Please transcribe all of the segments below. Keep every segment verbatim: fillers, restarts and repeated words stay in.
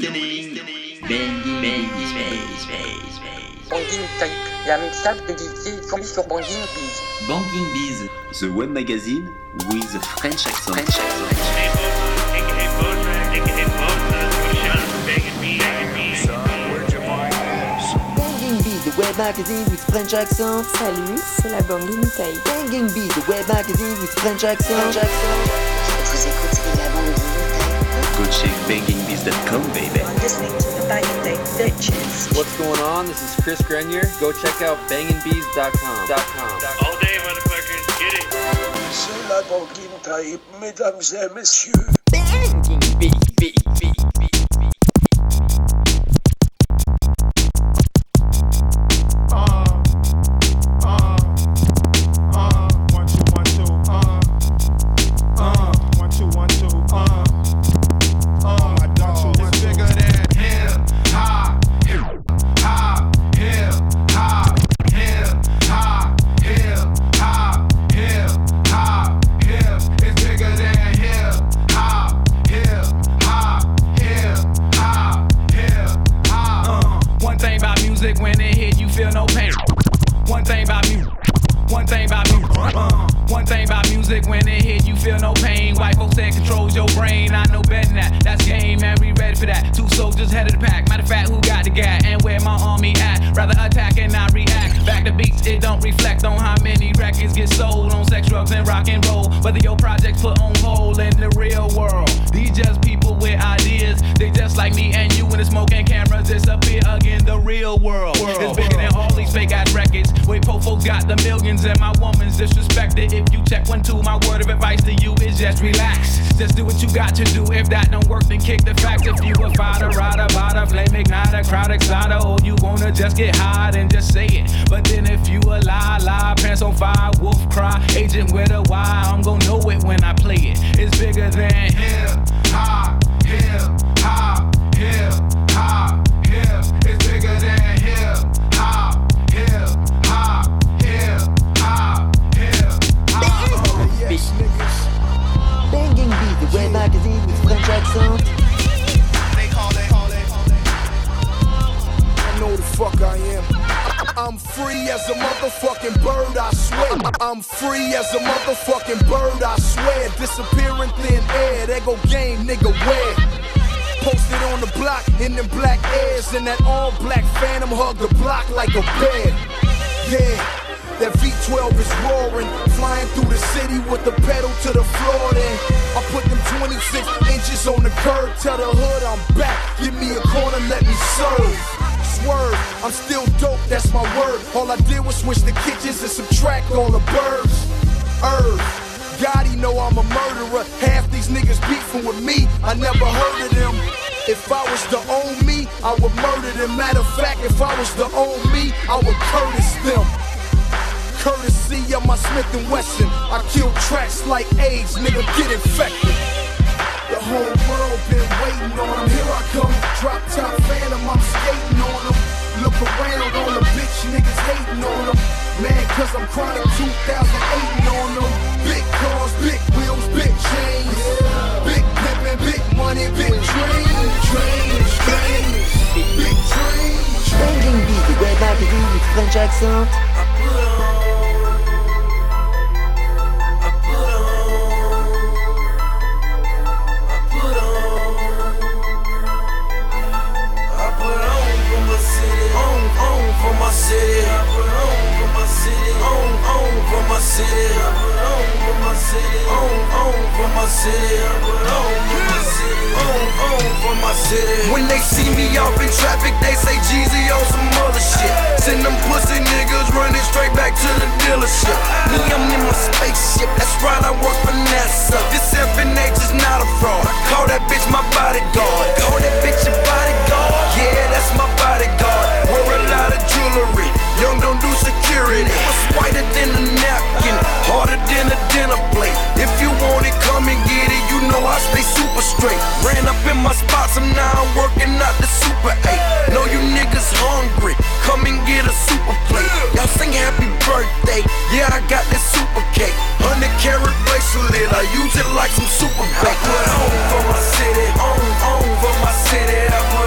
listening. Banging, banging, space, space, space. Banging Type, la mixtape de D J tombée sur Banging Biz. Banging Biz, the web magazine with French accent. French accent. Hey, Bosa, aka Bosa, aka Bosa, Sean, Banging Biz, Banging Biz. Banging Biz, the web magazine with French accent. Salut, c'est la Banging Type. Banging Biz, the web magazine with French accent. French accent. Vous écoutez la Banging Type. Go check banging biz dot com, baby. Listening to the Banging Type bitches. What's going on? This is Chris Grenier. Go check out banging bees dot com. All day, motherfuckers, get it. C'est la Banging Type, mesdames et messieurs. Banging Biz, Biz, Biz, Biz. When it hit, you feel no pain. One thing about music. One thing about music. Uh, one thing about music. When it hit, you feel no pain. White folks said controls your brain. I know better than that. That's game, man. We ready for that. Two soldiers head of the pack. Matter of fact, who got the gat and where my army at? Rather attack and not react. Back to beats, it don't reflect on how many records get sold on sex, drugs, and rock and roll. Whether your projects put on hold in the real world. These just people with ideas. They just like me and you when the smoke and cameras disappear again. The real world is bigger than all these fake ass records. Wait, po folks got the millions and my woman's disrespected. If you check one, two, my word of advice to you is just relax. Just do what you got to do. If that don't work, then kick the facts. If you a fighter, rider, bada, flame igniter, crowd exciter, or you wanna just get high, then just say it. But then if you a lie, lie, pants on fire, wolf cry, agent with a Y, I'm gon' know it when I play it. It's bigger than hip hop, hip hop, hip hop, hip. It's bigger than hip hop, hip hop, hip hop, hip hop. Yes, niggas. Banging Biz, the web magazine with French accent. They call it, call it, call it. I know the fuck I am. I'm free as a motherfucking bird, I swear. I'm free as a motherfucking bird, I swear. Disappear in thin air, there go game, nigga, where? Posted on the block in them black airs, and that all black phantom hug the block like a bear. Yeah, that V twelve is roaring, flying through the city with the pedal to the floor. Then I put them twenty-six inches on the curb, tell the hood I'm back, give me a corner, let me serve. Swerve, I'm still dope, that's my word. All I did was switch the kitchens and subtract all the birds. Earth, Gotti know I'm a murderer. Half these niggas beefing with me, I never heard of them. If I was to own me, I would murder them. Matter of fact, if I was to own me, I would Curtis them. Courtesy of my Smith and Wesson, I kill tracks like AIDS, nigga, get infected. The whole world been waiting on him. Here I come, drop top phantom, I'm skating on him. Look around on the bitch, niggas hating on him. Man, cause I'm chronic two thousand eight on them. Big cars, big wheels, big chains. Big pimpin', big money, big trains. Trains, trains, big trains. Banging Biz, the web magazine with French accent. City, I put on for my city, on, on for my city, I put on for my city, on, on for my city, I put on for my city, on, on for my city. When they see me off in traffic, they say Jeezy on some other shit. Send them pussy niggas running straight back to the dealership. Me, I'm in my spaceship, that's right, I work for NASA. This F N H is not a fraud. Call that bitch my bodyguard. Call that bitch your bodyguard. Yeah, that's my bodyguard. Wear a lot of jewelry. Young don't do security. It's whiter than a napkin, harder than a dinner plate. If you want it, come and get it. You know I stay super straight. Ran up in my spots, I'm now working out the Super eight. Know you niggas hungry, come and get a super plate. Y'all sing happy birthday, yeah I got this super cake. Hundred carat bracelet, I use it like some super bait. I put on for my city, on, on for my city. I put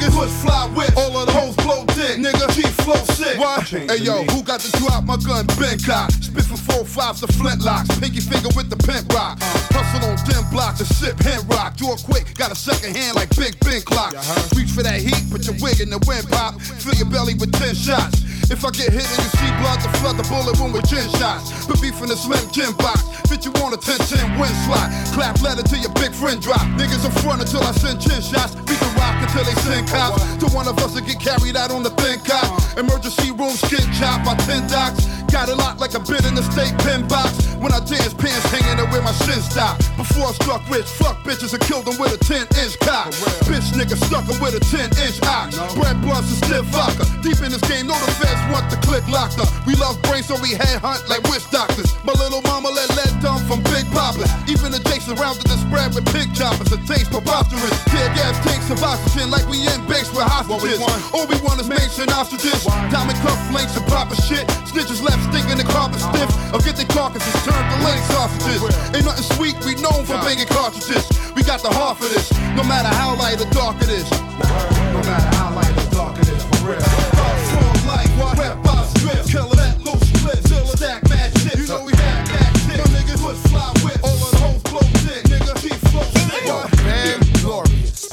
niggas push fly whip. All of the hoes blow dick, nigga. G flow sick. What? Hey yo, who got the drop? My gun been cocked. Spit from four fives to flintlocks. Pinky finger with the pimp rock. Hustle on dim blocks and sip hand rock. Do it quick, got a second hand like Big Ben clock. Reach for that heat, put your wig in the wind pop. Fill your belly with ten shots. If I get hit and you see blood, to flood the bullet wound with ten shots. Put beef in the slim gym box. Fit you on a ten ten win slot. Clap letter till your big friend drop. Niggas in front until I send chin shots. We can rock until they send cops. To one of us to get carried out on the thin cop. Emergency room skin chop by ten docs. Got it locked like a bit in the state pen box. When I dance, pants hanging there where my shin stop. Before I struck rich, fuck bitches and killed them with a ten inch cock. Bitch nigga stuck them with a ten inch ox. Bread blunts and stiff vodka. Deep in this game, know the feds want the click locked up. We love brains, so we head hunt like witch doctors. My little mama let lead dumb from Big Papa. Even the Jakes surrounded the spread with pig choppers. It tastes preposterous. Tear gas tanks of oxygen like we in base with hostages. All we want is mates and ostriches. Diamond cuff links and proper shit. Snitches left stinking the carpet stiff. Or get the carcasses turned to leg sausages. Ain't nothing sweet, we known for banging cartridges. We got the heart for this, no matter how light or dark it is. No matter how light or dark it is, for real. Strong like what? Rap by strip. Killer that loose split. Till stack mad shit. You know we had that shit. My niggas would fly with. All of the hoes blow dick. Nigga, keep flow sick. Man, glorious.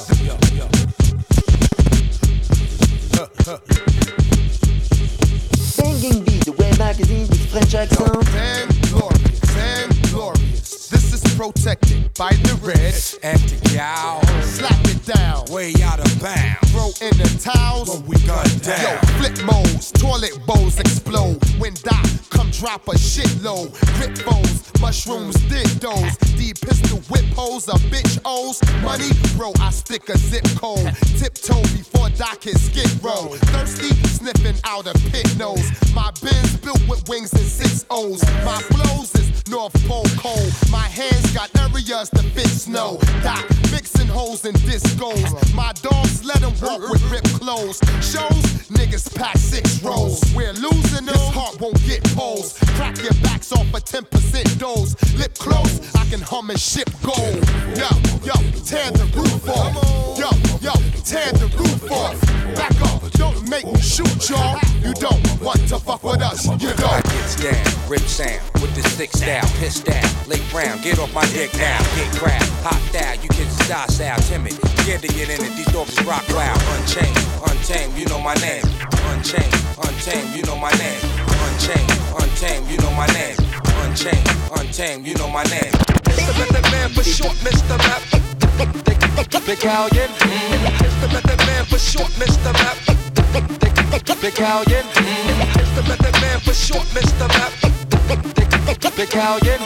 Banging beat, the web magazine with French accent. Man, glorious. Man, glorious. This is protected by the red. And the gal, Slap it down. way out of bounds. Throw in the towels. When we gun down. Yo, flip modes, toilet bowls explode. When Doc come drop a shitload. Grip bowls, mushrooms, dildos. D pistol whip holes, a bitch O's. Money, bro, I stick a zip code. Tiptoe before Doc hit skid row. Thirsty, sniffing out a pit nose. My Benz built with wings and six O's. My flows is North Pole cold. My hands got areas to fit snow. Doc mixing holes and discos. My dogs let them walk with ripped clothes. Shows, niggas pack six rolls. We're losing this heart won't get poles. Crack your backs off a ten percent dose. Lip close, I can hum and ship gold. Yo, yo, tear the roof off. Yo, yo, tear the roof off. Back up, don't make me shoot y'all. You don't want to fuck with us, you don't. Gets down, rip sound, with the stick style, piss down, late round, get off my dick now, get crap, hot style, you kids style style, timid, scared to get in it, these dogs is rock wild, unchained, untamed, you know my name, unchained, untamed, you know my name, unchained, untamed, you know my name, unchained, untamed, you know my name. Mister Method Man for short, Mister Map. Big Hallion. Mister Method Man for short, Mister Map. Big Hallion. Mister Method Man for short, Mister Map. Big Hallion.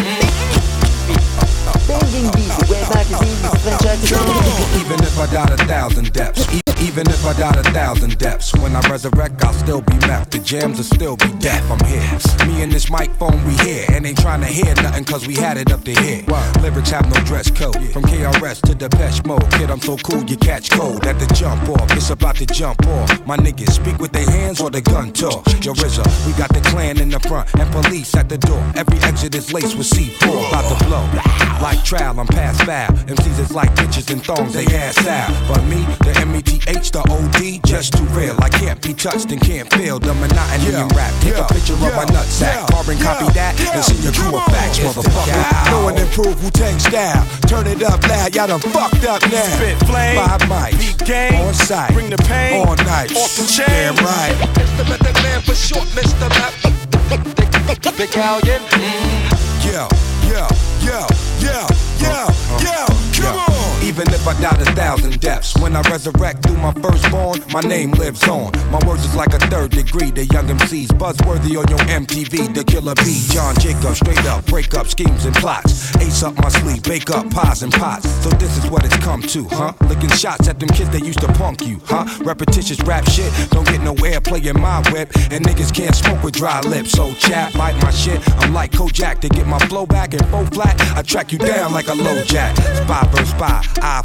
Banging beat, the web magazine with French accent. Even if I died a thousand depths, e- even if I died a thousand depths, when I resurrect, I'll still be meth. The jams will still be deaf. I'm here. Me and this microphone, we here, and ain't trying to hear nothing, cause we had it up to here. Lyrics have no dress code. From K R S to Depeche Mode, kid, I'm so cool, you catch cold. At the jump off, it's about to jump off. My niggas speak with their hands or the gun talk. Yo, R Z A, we got the clan in the front and police at the door. Every exit is laced with C four, about to blow. Like trial, I'm past foul. M Cs is like bitches and thongs, they ass out. But me, the M E T H, the O D, just too real. I can't be touched and can't feel the monotony in rap. Take a picture of my nutsack, carbon copy that, and see your crew of facts, motherfucker. Go and improve Wu-Tang style. Turn it up loud, y'all done fucked up now. Spit flame, Five mics, beat game, on site, bring the pain, all night, off the chain. damn right. Mister Method Man for short, Mister Map. Big Hallion. Yo, yo, yo, yo, yo, yo, come on. Even if I died a thousand deaths, when I resurrect through my firstborn, my name lives on. My words is like a third degree. The young M Cs buzzworthy on your M T V. The Killer B, John Jacob, straight up, break up schemes and plots. Ace up my sleeve, bake up pies and pots. So this is what it's come to, huh? Licking shots at them kids that used to punk you, huh? Repetitious rap shit, don't get no airplay in my whip. And niggas can't smoke with dry lips. So chat, bite my shit. I'm like Kojak to get my flow back and full flat. I track you down like a low jack. Spy versus spy, eye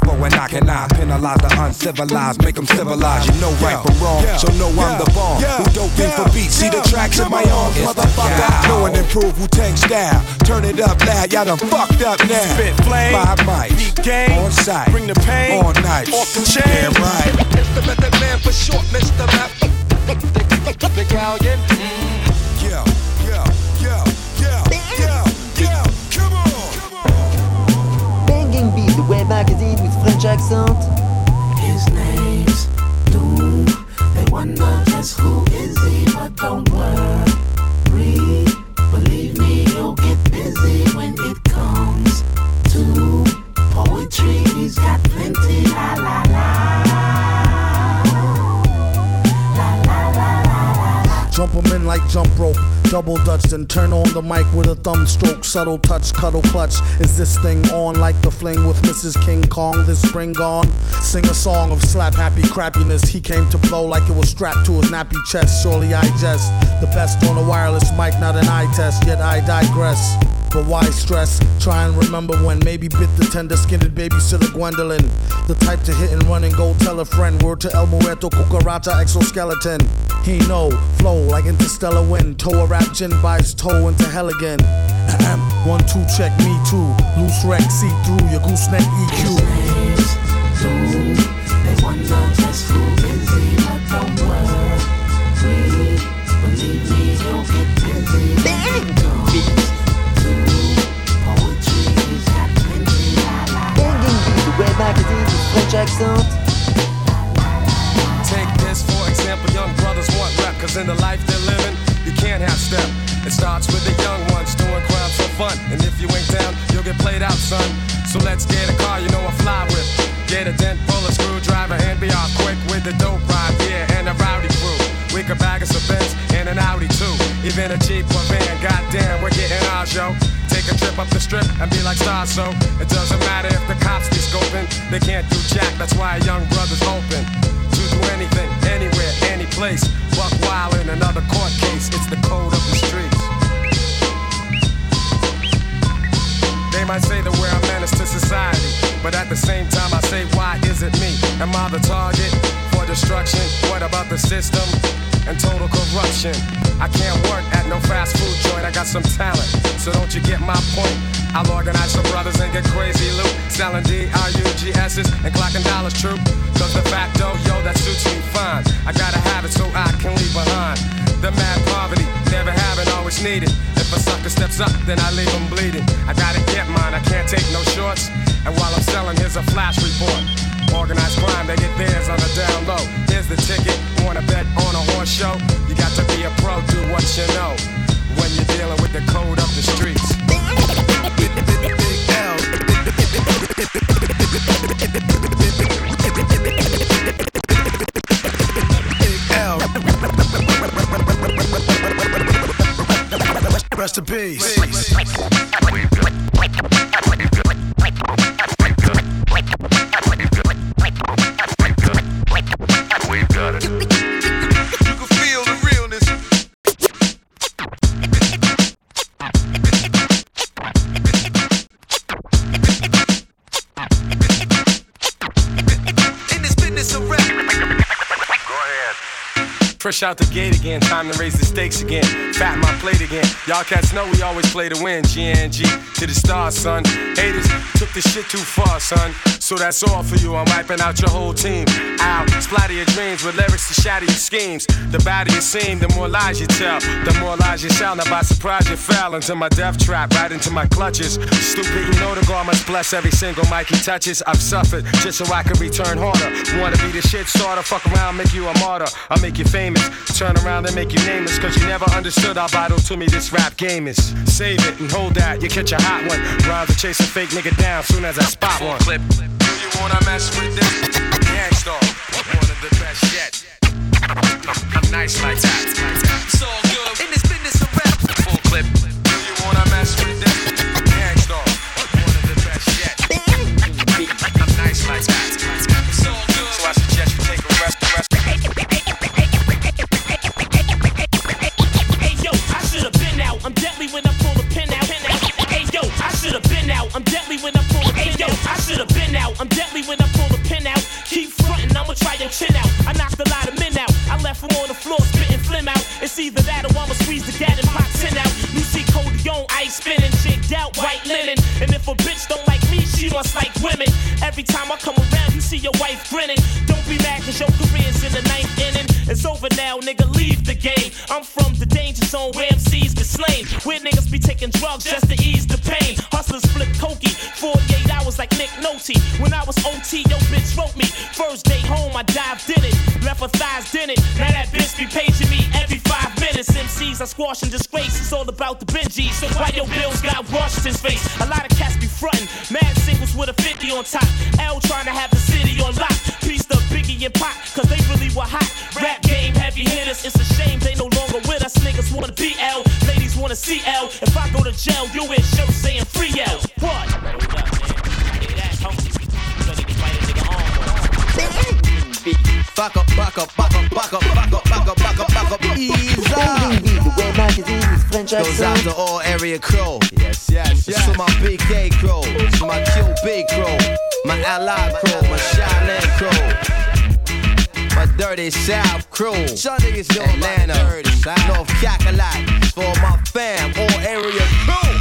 civil and I cannot penalize the uncivilized, make them civilized. You know right from wrong, so know I'm the bomb. Who don't think for beats, see the tracks in my arms, motherfucker. Know and improve Wu-Tang style. Turn it up loud, y'all done fucked up now. Spit flame, five mics, game on site, bring the pain, all night, off the chain. Yeah, right. It's the method man for short, Mister Map. The Gallion. Yeah, yeah, yeah, yeah, yeah, yeah. Come on. Banging Beat, the web magazine with French accent. His name's Doom. They wonder just who is he, but don't worry. Believe me, he'll get busy when it comes to poetry. He's got plenty. La la la. Jump 'em in like jump rope, double dutch, then turn on the mic with a thumb stroke, subtle touch, cuddle clutch. Is this thing on like the fling with Missus King Kong this spring gone? Sing a song of slap happy crappiness. He came to blow like it was strapped to his nappy chest. Surely I jest, the best on a wireless mic, not an eye test, yet I digress. But why stress? Try and remember when maybe bit the tender-skinned babysitter Gwendolyn. The type to hit and run and go tell a friend. Word to El Muerto, Cucaracha, exoskeleton. He know, flow like interstellar wind. Toe a rap gin buys toe into hell again. One, two, check me too. Loose wreck, see through your gooseneck E Q. They wonder just who is he, but don't worry. Believe me, he'll get busy. Banging Beat, the web magazine with French accent. Take this for example, young brothers want rap, cause in the life they're living, you can't have step. It starts with the young ones doing crimes for fun, and if you ain't down, you'll get played out, son. So let's get a car you know I fly with. Get a dent, pull a screwdriver, and be off quick with the dope ride, yeah, and a rowdy crew. We could bag us a Benz and an Audi too, even a Jeep or van, goddamn, we're getting ours, yo. Take a trip up the strip and be like stars, so it doesn't matter if the cops be scoping. They can't do jack, that's why a young brother's open to do anything, anywhere, any place. Buck wild in another court case, it's the code of the streets. They might say that we're a menace to society, but at the same time I say, why is it me? Am I the target for destruction? What about the system and total corruption? I can't work at no fast food joint, I got some talent, so don't you get my point? I'll organize some brothers and get crazy loot, selling D R U G S's and clocking dollars true. Cause the facto, yo, that suits me fine. I gotta have it so I can leave behind the mad poverty, never having, always needed. If a sucker steps up, then I leave him bleeding. I gotta get mine, I can't take no shorts. And while I'm selling, here's a flash report. Organized crime, they get theirs on the down low. Here's the ticket, wanna bet on a horse show? You got to be a pro, do what you know when you're dealing with the code of the streets. Rest in peace. We've got it. You can feel the realness. In this business of rap. Go ahead. Fresh out the gate again, time to raise the stakes again. Fatten my plate again. Y'all cats know we always play to win. G N G to the stars, son. Haters took this shit too far, son. So that's all for you. I'm wiping out your whole team. Ow, splatter your dreams with lyrics to shatter your schemes. The badder you seem, the more lies you tell. The more lies you sell. Now by surprise you fell into my death trap, right into my clutches. Stupid, you know the God must bless every single mic he touches. I've suffered just so I can return harder. Wanna be the shit starter? Fuck around, make you a martyr. I'll make you famous. Turn around and make you nameless, cause you never understood how vital to me this rap game is. Save it and hold that, you catch a hot one. Rhymes to chase a fake nigga down soon as I spot one. Clip. Do you wanna mess with this? Gangstar, one of the best yet. I'm nice like that. It's all good in this business of rap. Full clip. Do you wanna mess with this? Gangstar, one of the best yet. I'm nice like that. It's all good. So I suggest you take a rest, rest. I'm deadly when I pull the pin out. Hey yo, I should've been out. I'm deadly when I pull the pin out. I should've been out. I'm deadly when I pull the pin out. Keep frontin', I'ma try your chin out. I knocked a lot of men out. I left them on the floor spitting phlegm out. It's either that or I'ma squeeze the gat and pop tin out. Lucy Coleon, ice spinning, jigged out, white linen. And if a bitch don't like me, she must like women. Every time I come around, you see your wife grinning. Don't be mad cause your career's in the ninth inning. It's over now, nigga, leave the game. I'm from the danger zone where M Cs get slain. Where niggas be taking drugs just to ease the pain. Hustlers flip cokey, forty-eight hours like Nick Nolte. When I was O T, yo bitch wrote me. First day home, I dived in it. Left her thighs in it. Now that bitch be paging me every five minutes. M Cs I squash and disgrace. It's all about the Benjis. So why your bills got washed his face? A lot of cats be frontin'. Mad singles with a fifty on top. L trying to have the city on lock. Piece the Biggie and Pac, cause they really were hot. Rap game heavy hitters. It's a shame they no longer with us. Niggas wanna B L. Ladies wanna C L. If I go to jail, you wear shirts saying free L. What? Back up, back up, back up, back up, back up, back up, back up, back up, ease up. The way magazine is French accent. Goes out to all area crew. Yes, yes, yes. To my B K crew, to my Q B crew, my Ally crew, my Shaolin crew, my Dirty South crew, Atlanta, North Cackalack, for my fam, all area crew.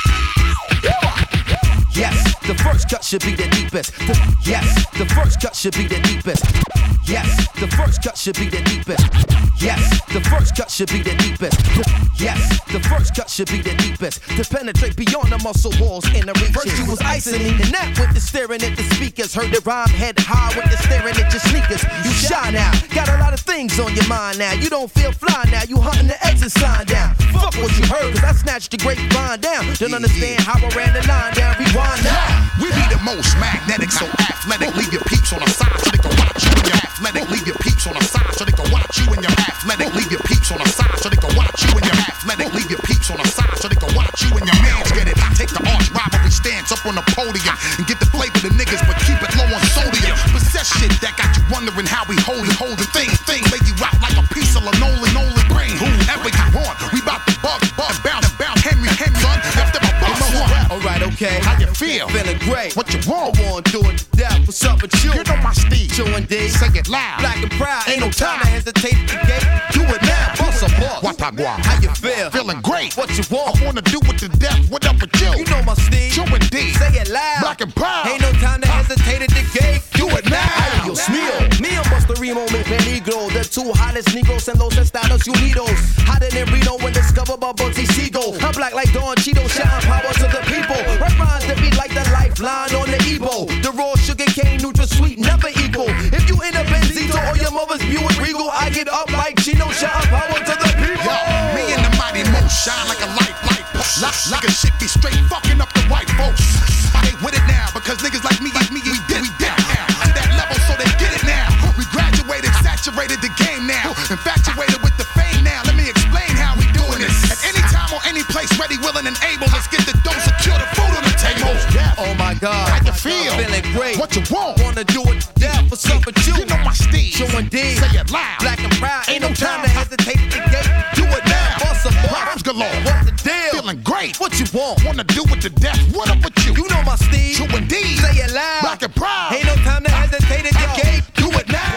Yes, the first cut should be the deepest. The, yes, the first cut should be the deepest. Yes, the first cut should be the deepest. Yes, the first cut should be the deepest. Yes, the first cut should be the deepest. To penetrate beyond the muscle walls in the reach. First you was icing me, and that with the staring at the speakers. Heard the rhyme head high with the staring at your sneakers. You shy now, got a lot of things on your mind now. You don't feel fly now, you hunting the exit sign down. Fuck what you heard, cause I snatched the grapevine down. Don't understand how I ran the line down. Rewind now. We be the most magnetic, so athletic. Leave your peeps on the side so they can watch you and your athletic. Leave your peeps on the side so they can watch you and your athletic. Leave your peeps on the side so they can watch you and your athletic. Leave your peeps on the side so they can watch you and your mans get it. Take the arch rivalry stance up on the podium and get the flavor the niggas, but keep it low on sodium. Possess shit that got you wondering how we hold it, hold the thing, thing. Lay you out like a piece of linoleum, linoleum brain. Whoever you want, we bout to bug, bug, bound and bound. Henry, Henry, son, left them a boss one. Alright, okay. How you feel? Feeling great. What you want? I want to do it to death. What's up with you? You know my Steve. Q and D. Say it loud. Black and proud. Ain't no time to hesitate to get. Do it now. Bust a boss. What I want? How you feel? Feeling great. What you want? I wanna do it to death. What up with you? You know my Steve. Q and D. Say it loud. Black and proud. Ain't no time to hesitate at the gate. Do it now. Yo, Smeo. Me and Busta Remo make peligro. The two hottest Negros and los Estados Unidos. Hotter than Reno when discovered by Bugsy Siegel. I'm black like Don Cheeto, shouting power to the people. Right rhymes that be like the lifeline on the Evo. The raw sugar cane, neutral sweet, never equal. If you in a Benzito or your mother's Buick Regal, I get up like Chino, shouting power to the people. Yo, me and the mighty Mo shine like a light, light. Like a shit be straight fucking up the white folks. I ain't with it now because niggas like me, like me, we did, we did now. To that level so they get it now. We graduated, saturated the game now. Infatuated with the fame now. Let me explain how we doing this. At any time or any place, ready, willing, and able. Let's get the dough, secure the food on the table. Oh my God. How you feel? Feeling great. What you want? Wanna do it to death. What's up with you? You know my Steve. Q and D. Say it loud. Black and proud. Ain't no time to hesitate at the gate. Do it now. Bust a Rhymes galore. What's the deal? Feeling great. What you want? Wanna do it to death. What up with you? You know my Steve. Q and D. Say it loud. Black and proud. Ain't no time to hesitate at the gate. Do it now.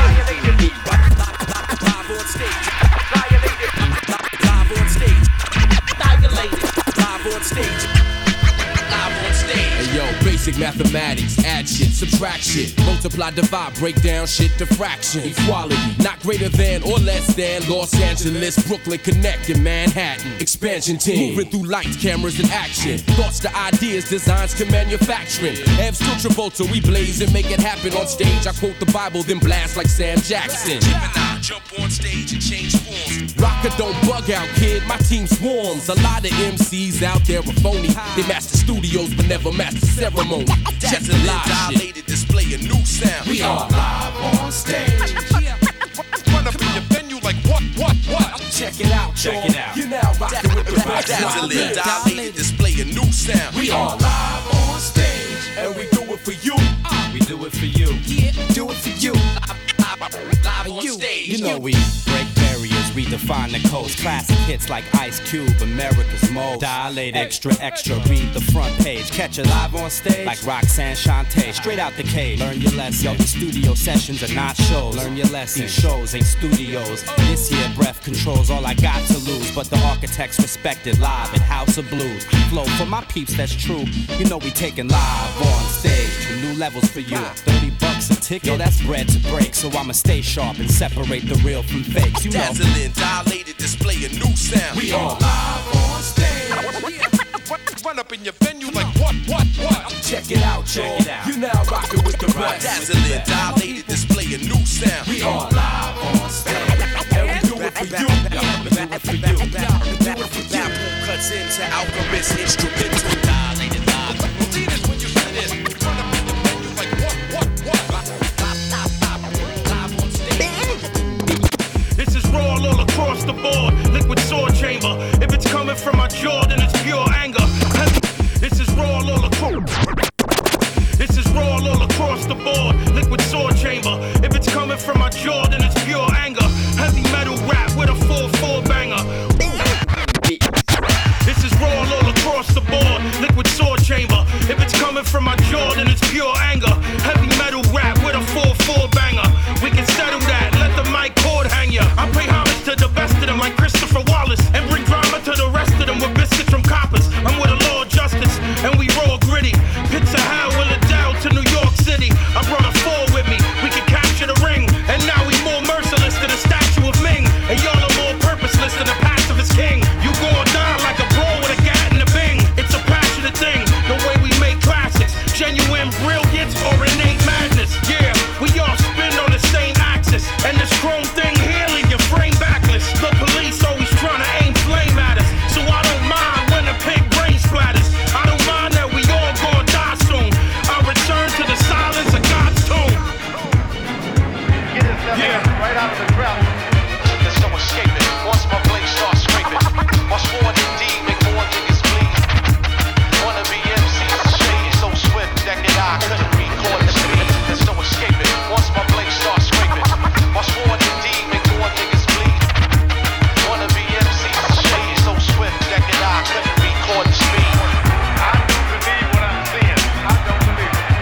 Live on stage. Live on stage. Dilated. Live on stage. Live on stage. Hey yo, basic mathematics, add shit, subtract shit, multiply, divide, break down shit to fraction. Equality, not greater than or less than Los Angeles, Brooklyn, Connecticut, Manhattan. Expansion team, moving through lights, cameras, and action. Thoughts to ideas, designs to manufacturing. Evs to Travolta, we blaze and make it happen on stage. I quote the Bible, then blast like Sam Jackson. Gemini, jump on stage and change forms. Rocker, don't bug out, kid, my team swarms. A lot of M Cs out there are phony. They master studios, but never master ceremony. Just a live dilated display a new sound. We are live on stage. Run up in your venue like what, what, what? Check it out, check it out. You're now rocking with the best. Dazzling, dilated display a new sound. We are live on stage, and we do it for you. We do it for you. Yeah, do it for you. Live on stage. You know we break barriers, reach redefine the coast. Classic hits like Ice Cube, America's Most. Dilate extra, extra, read the front page. Catch it live on stage like Roxanne Shante. Straight out the cage, learn your lesson. Yo, the studio sessions are not shows. Learn your lesson. These shows ain't studios. This here breath controls all I got to lose. But the architects respected live at House of Blues. Flow for my peeps, that's true. You know we taking live on stage. New levels for you. thirty bucks a ticket. Yo, that's bread to break. So I'ma stay sharp and separate the real from fakes. You know. Dazzling, dilated, display a new sound. We all live on stage. Run up in your venue like what, what, what? Check it out, check it out. You now rockin' with the best. Dazzling, dilated, display a new sound. We all live on stage. And we do it for you. We do it for you. We do it for you. Cuts into Alchemist instrumental. Dilated, dilated. See this when you hear this. Run up in your venue like what, what, what? Live on stage. This is raw all across the board. Liquid sword chamber. If it's coming from my jaw, then it's pure anger. This is raw all across. This is raw all across the board. Liquid sword chamber. If it's coming from my jaw, then it's pure anger. Heavy metal rap with a full four banger. This is raw all across the board. Liquid sword chamber. If it's coming from my jaw, then it's pure anger. Heavy metal rap with a full four banger. We can settle that. Let the mic cord hang ya. I pay homage to the best of them like Christopher Wallace and bring drama to the rest of them with biscuits from coppers. I'm with a law of justice and we raw gritty. Pits of hell, Willardell to New York City. I brought a four with me. We can capture the ring. And now we more merciless than the statue of Ming. And y'all are more purposeless than the pacifist king. You gon' die like a bro with a gat and a bing. It's a passionate thing, the way we make classics. Genuine brilliance or innate madness. Yeah, we all spin on the same axis. And this chrome thing here leave your frame backless. The police always trying to aim flame at us. So I don't mind when the pig brain splatters. I don't mind that we all gon' die soon. I'll return to the silence of God's tomb. Yeah, right out of the crowd. There's no escaping. Once my blade starts scraping, my sword indeed make more niggas bleed. Wanna be M Cs, shade so swift that can I couldn't record the speed. There's no escaping. Once my blade starts scraping, my sword indeed make more niggas bleed. Wanna be M Cs, shade so swift that can I couldn't record the speed. I do believe what I'm seeing. I don't believe it.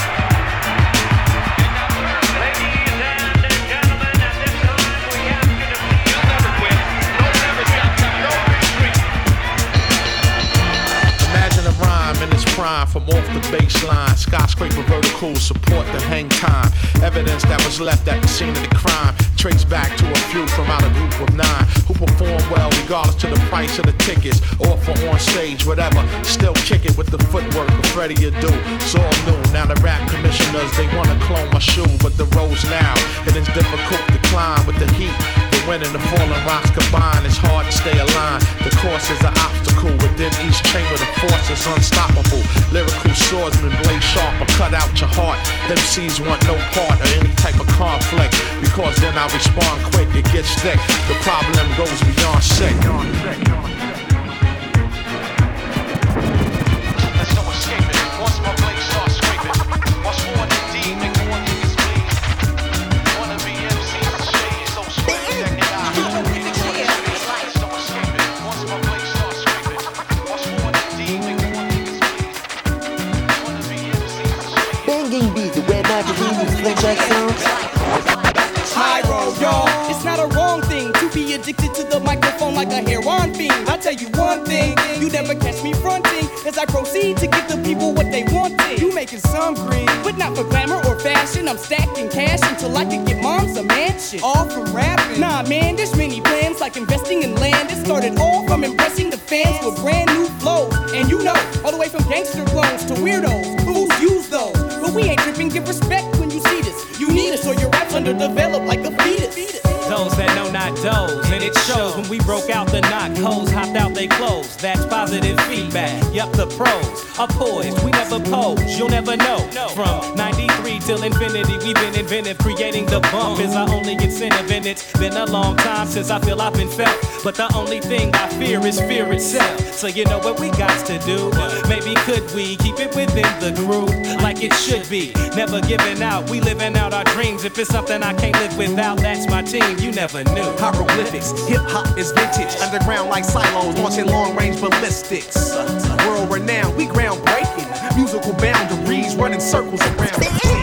Ladies and gentlemen, at this time we ask you to please never quit. No never stop. No retreat. Imagine a rhyme in its prime from off the baseline. Skyscraper vertical support the hang time. Evidence that was left at the scene of the crime. Trace back to a few from out a group of nine who perform well regardless to the price of the tickets or for on stage, whatever. Still kick it with the footwork of Freddie Adu. It's all new. Now the rap commissioners, they wanna clone my shoe, but the road's now. It is difficult to climb with the heat. The wind and the falling rocks combine. It's hard to stay aligned. The course is an obstacle within each chamber. The force is unstoppable. Lyrical swordsman, blade sharp, or cut out your heart. M Cs want no part of any type of conflict because then I respond quick. It gets thick. The problem goes beyond sick. There's no escaping. Once my blade starts scraping, my sword indeed make more niggas bleed. Wanna be M Cs, shade so swift that can I couldn't record the speed. There's no escaping. Once my blade starts scraping, my sword indeed make more niggas bleed. Wanna be M Cs, shade. Banging beats, the web magazine with French accents. High road, y'all. It's not a wrong thing to be addicted to the microphone like a heroin fiend. I'll tell you one thing, you never catch me fronting as I proceed to give the people what they wanted. You making some green, but not for glamour or fashion. I'm stacking cash until I can get moms a mansion. All from rapping. Nah, man, there's many plans like investing in land. It started all from impressing the fans with brand new flows. And you know, all the way from gangster clones to weirdos, who's use those. But we ain't tripping, give respect when you see this. You need us or your rap's underdeveloped like a fetus. Those that know not those, and it shows when we broke out the knock, hoes hopped out they clothes. That's positive feedback. Yup, the pros are poised. We never pose, you'll never know. From ninety-three till infinity, we've been inventive. Creating the bump is our only incentive, and it's been a long time since I feel I've been felt. But the only thing I fear is fear itself. So you know what we got to do? Maybe could we keep it within the group like it should be? Never giving out, we living out our dreams. If it's something I can't live without, that's my team. You never knew. Hieroglyphics, Hip hop is vintage, underground like silos, launching long range ballistics. World renowned, we groundbreaking. Musical boundaries running circles around the scene.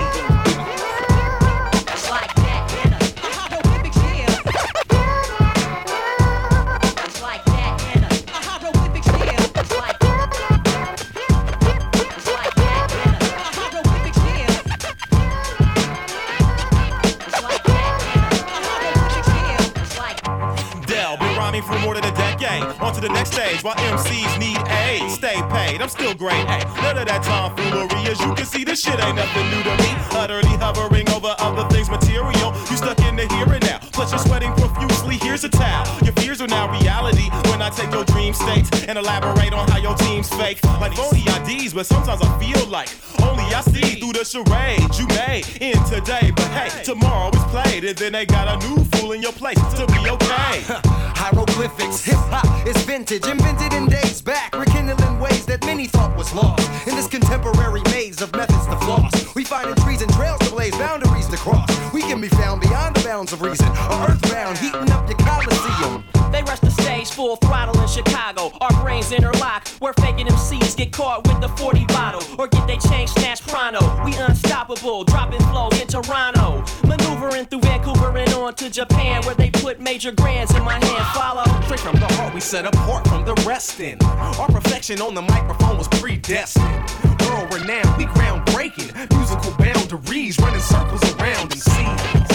For more than a decade, on to the next stage. While M Cs need aid, stay paid. I'm still great. Hey, none of that tomfoolery. As you can see, this shit ain't nothing new to me. Utterly hovering over other things material. You stuck in the here and now. Plus you're sweating profusely. Here's a towel. Your fears are now reality. When I take your dream states and elaborate on how your team's fake, like phony I Ds, but sometimes I feel like only I see through the charade you made in today. But hey, tomorrow is played, and then they got a new fool in your place to be okay. Hieroglyphics, hip-hop is vintage, invented in days back, rekindling ways that many thought was lost. In this contemporary maze of methods to floss, we find trees and trails to blaze, boundaries to cross. We can be found beyond the bounds of reason, or earthbound, heating up your coliseum. They rush the stage full throttle in Chicago. Our brains interlock, where faking M Cs get caught with the forty bottle, or get they change snatched pronto. We unstoppable, dropping flows in Toronto, maneuvering through Vancouver and on to Japan, where they put major grands in my hand. Follow straight from the heart, we set apart from the rest. In our perfection on the microphone was predestined. World renowned, we groundbreaking. Musical boundaries running circles around M Cs.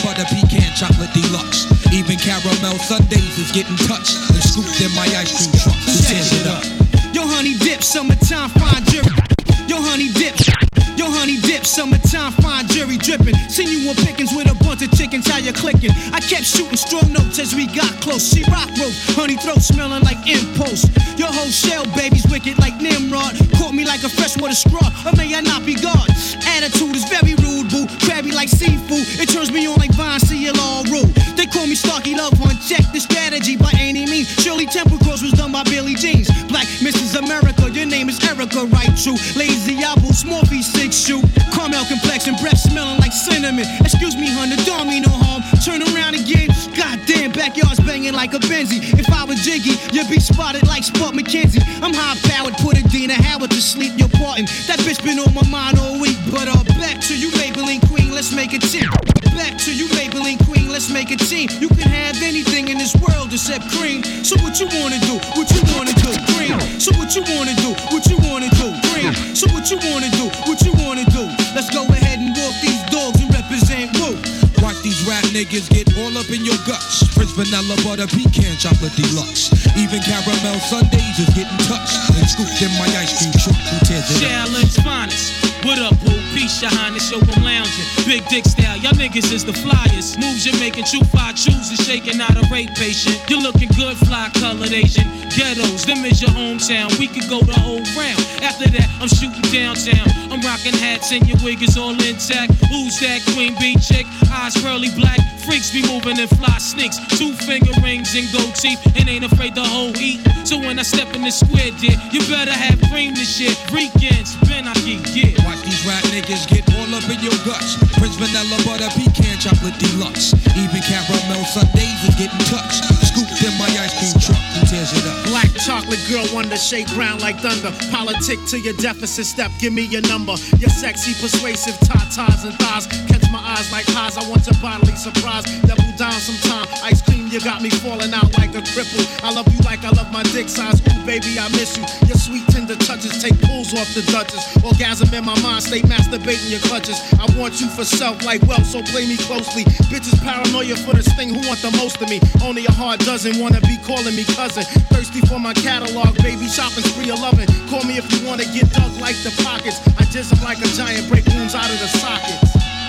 butter pecan chocolate deluxe. Even caramel sundaes is getting touched and scooped in my ice cream truck. Who tears it up? Yo, honey dip, summertime fine jury. Yo, honey dip. Yo, honey dip, summertime fine jury dripping. Seen you on pickings with a bunch of chickens, how you clicking? I kept shooting strong notes as we got close. She rock rope, honey throat smelling like impulse. Your whole shell, baby's wicked like Nimrod. Caught me like a freshwater straw, or may I not be God? Attitude is very rude, boo. Crabby like seafood, it turns me on like Vine, see it all rude. They call me Starkey Love One, check the strategy by any means. Shirley Temple Cross was done by Billie Jeans. Black Missus America, your name is Erica, right? True. Lazy apple, small feet, six shoe. Caramel complexion, breath smelling like cinnamon. Excuse me, hun, the don't mean no harm. Turn around again, goddamn, backyard's banging like a Benzie. If I was Jiggy, you'd be spotted like Spud McKenzie. I'm high powered, put a Dina Howard to sleep, you're parting. That bitch been on my mind all week. But uh, back to you, Maybelline Queen, let's make a team. Back to you, Maybelline Queen, let's make a team. You can have anything in this world except cream. So what you wanna do? What you wanna do? Cream. So what you wanna do? What you wanna do? Cream. So what you wanna do? What you wanna do? Let's go ahead and walk these dogs and represent woo. Watch these rap niggas get all up in your guts. Prince Vanilla Butter Pecan Chocolate Deluxe. Even caramel sundaes is getting touched and scooped in my ice cream truck. Who tears it up? Shaolin's finest. What up, boo? Peace, your highness, yo, I'm lounging. Big dick style, y'all niggas is the flyers. Moves you're making, true five chooses, shaking out a rape patient. You're looking good, fly colored Asian. Ghettos, them is your hometown. We could go the whole round. After that, I'm shooting downtown. I'm rocking hats and your wig is all intact. Who's that queen bee chick? Eyes pearly black. Freaks be moving in fly sneaks. Two finger rings and gold teeth. And ain't afraid to hold heat. So when I step in the square, dear, you better have cream this shit. Weekends, Ben I keep, yeah. Watch these rap niggas get all up in your guts. Prince Vanilla Butter Pecan Chocolate Deluxe. Even caramel sundaes is getting touched. Scooped in my ice cream truck. Who tears it up? Black chocolate girl wonder, shake ground like thunder. Politic to your deficit step, give me your number. Your sexy, persuasive tatas and thighs. Catch my eyes like highs, I want your bodily surprise. Double down sometime, ice cream, you got me falling out like a cripple. I love you like I love my dick size. Ooh, baby, I miss you. Your sweet tender touches take pulls off the Duchess. Orgasm in my mind, stay masturbating your clutches. I want you for self like wealth, so play me closely. Bitches paranoia for this thing, who want the most of me? Only a heart doesn't wanna be calling me cousin. Thirsty for my catalog, baby, shopping spree of loving. Call me if you wanna get dug like the pockets. I just am like a giant, break wounds out of the sockets.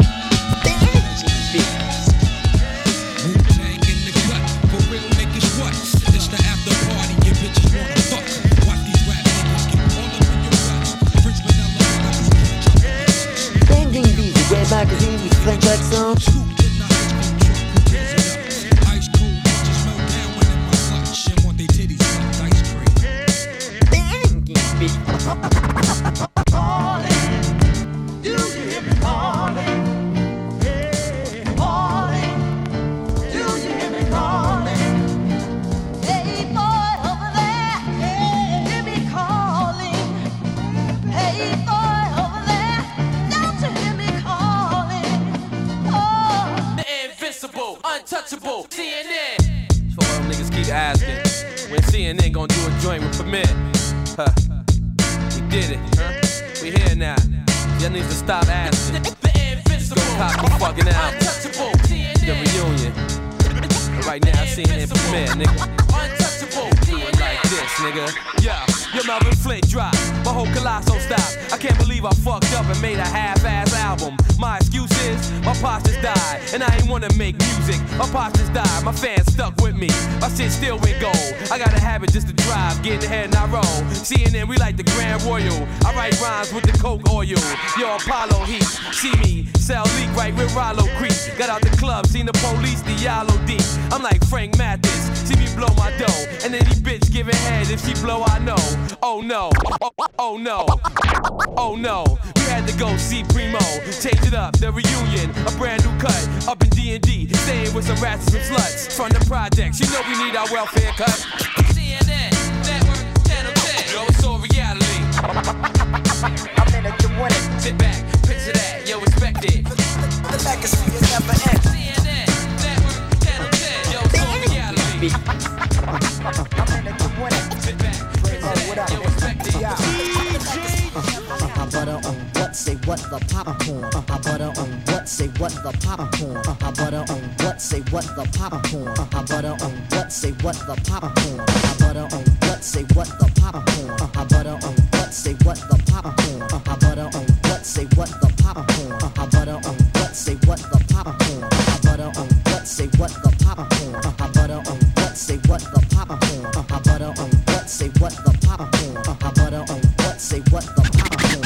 Wu-Tang in the gut, for real niggas what? It's the after party, your bitches wanna fuck. Watch these rap niggas get all up in your guts. Prince Vanilla Butter Banging beats, the red magazine with Frank Jackson. Ice cold bitches melt down when in my clutch and want they titties sucked ice cream. Banging beats. Do you hear me calling? Yeah, calling. Do you hear me calling? Hey boy over there, hear me calling. Hey boy over there, don't you hear me calling? Oh, the invincible, untouchable, C N N. So all them niggas keep asking when C N N gon' do a joint with Premier. Huh? We did it, huh? We here now. Y'all need to stop asking. The invincible, cop you fucking out. Untouchable, the reunion. But right now, C N N Premier, nigga. Untouchable, do it like this, nigga. Yeah, your Melvin Flint drop, my whole Colosso stop. I can't believe I fucked up and made a half-ass album. My excuse is, my pops just died, and I ain't wanna make music. My pops just died, my fans stuck with me. My shit still went gold. I got a habit just to drive, get ahead and I roll. C N N, we like the Grand Royal. I write rhymes with the Coke oil. Yo, Apollo Heat, see me, sell leak right with Rollo Creek. Got out the club, seen the police, the yellow deep. I'm like Frank Mathis, see me blow my dough. And any bitch giving head, if she blow, I know. Oh no, oh, oh no, oh no. We had to go see Primo, change it up, the reunion, a brand new cut. Up in D and D, staying with some rats and some sluts. From the projects, you know we need our welfare cut. C N N, Network, Channel ten. Yo, it's all reality. I'm in it to win it. Sit back, picture that, yo, respect it. The legacy is never end. C N N, Network, Channel ten. Yo, it's all reality. I'm in it to win it. Sit back, picture that, yo, respect it. Butter on what? Say what the popcorn. I butter on what? Say what the popcorn. I butter on what? Say what the popcorn. I butter on what? Say what the popcorn. I butter on what? Say what the popcorn. I butter on what? Say what the popcorn. I butter on what? Say what the popcorn. I butter on what? Say what the popcorn. I butter on what? Say what the popcorn. I butter on what? Say what the popcorn. I butter on what? Say what the popcorn. I butter on what? Say what the popcorn.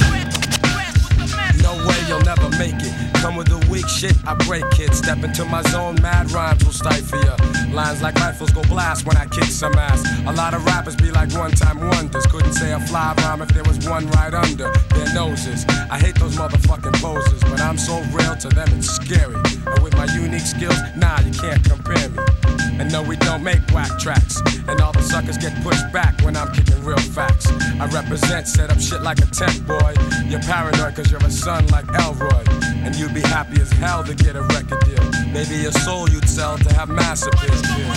No way you'll never make it. Come with the weak shit, I break it. Step into my zone, mad rhymes will stifle ya. Lines like rifles go blast when I kick some ass. A lot of rappers be like one-time wonders. Couldn't say a fly rhyme if there was one right under their noses. I hate those motherfucking poses, but I'm so real to them it's scary. And with my unique skills, nah, you can't compare me. And no, we don't make whack tracks. And all the suckers get pushed back when I'm kicking real facts. I represent, set up shit like a tent boy. You're paranoid cause you're a son like Elroy. And you'd be happy as hell to get a record deal. Maybe your soul you'd sell to have mass appeal.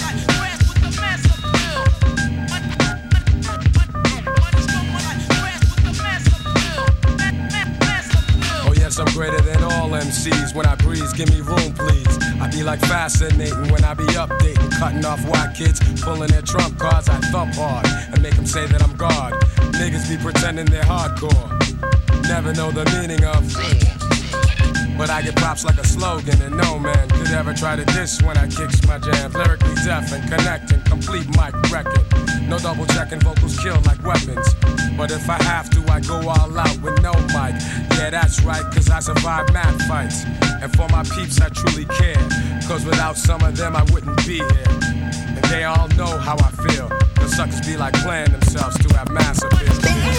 Oh yes, I'm greater than all M Cs. When I breeze, give me room please. I be like fascinating when I be updating, cutting off white kids, pulling their trump cards. I thump hard and make them say that I'm God. Niggas be pretending they're hardcore, never know the meaning of. But I get props like a slogan, and no man could ever try to diss when I kicks my jams. Lyrically deaf and connecting, complete mic record. No double checking, vocals kill like weapons. But if I have to, I go all out with no mic. Yeah, that's right, cause I survive mad fights. And for my peeps, I truly care. Cause without some of them, I wouldn't be here. And they all know how I feel. The suckers be like playing themselves to have mass appeal.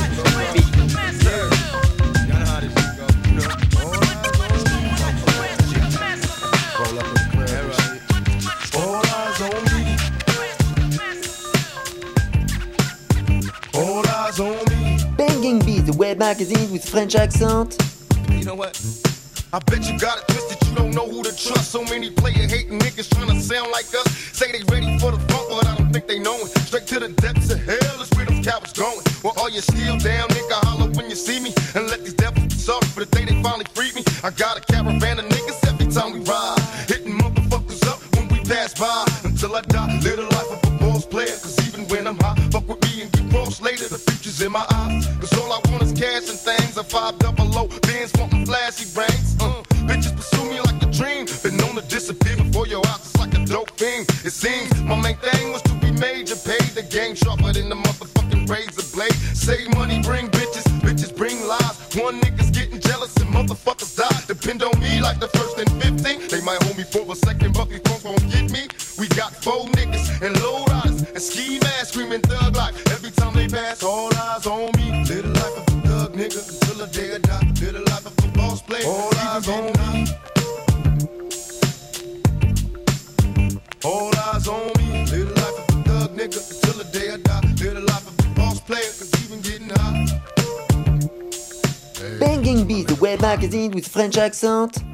Banging Beats, the web magazine with French accent. You know what? I bet you got it twisted, you don't know who to trust. So many player hating niggas trying to sound like us. Say they ready for the funk, but I don't think they know it. Straight to the depths of hell is where them cowards going. Well, all you still down, nigga, holler when you see me. And let these devils be sorry for the day they finally freed me. I got a caravan of niggas every time we ride, hitting motherfuckers up when we pass by. Until I die, live the life of a boss player. Cause even when I'm high, fuck with me and get crossed later. The future's in my eyes, cause all I want is cash and things. A five double low, bands wanting flashy rings. Uh, bitches pursue me like a dream. Been known to disappear before your eyes, it's like a dope thing. It seems my main thing was to be major, pay the game sharper than the motherfucking razor blade. Save money, bring bitches, bitches bring lies. One nigga's getting jealous and motherfuckers die. Depend on me like the first and fifteen. They might hold me for a second, but these folks won't get me. We got four niggas and low riders and ski masks screaming thug life. Every time they pass, all eyes on me. Live the life of a thug nigga until the day I die. Live the life of a boss player. All eyes on me. All eyes on me. Live the life of a thug nigga until the day I die. Live the life of a boss player, cause even getting high. Banging Beats, the web magazine with French accent.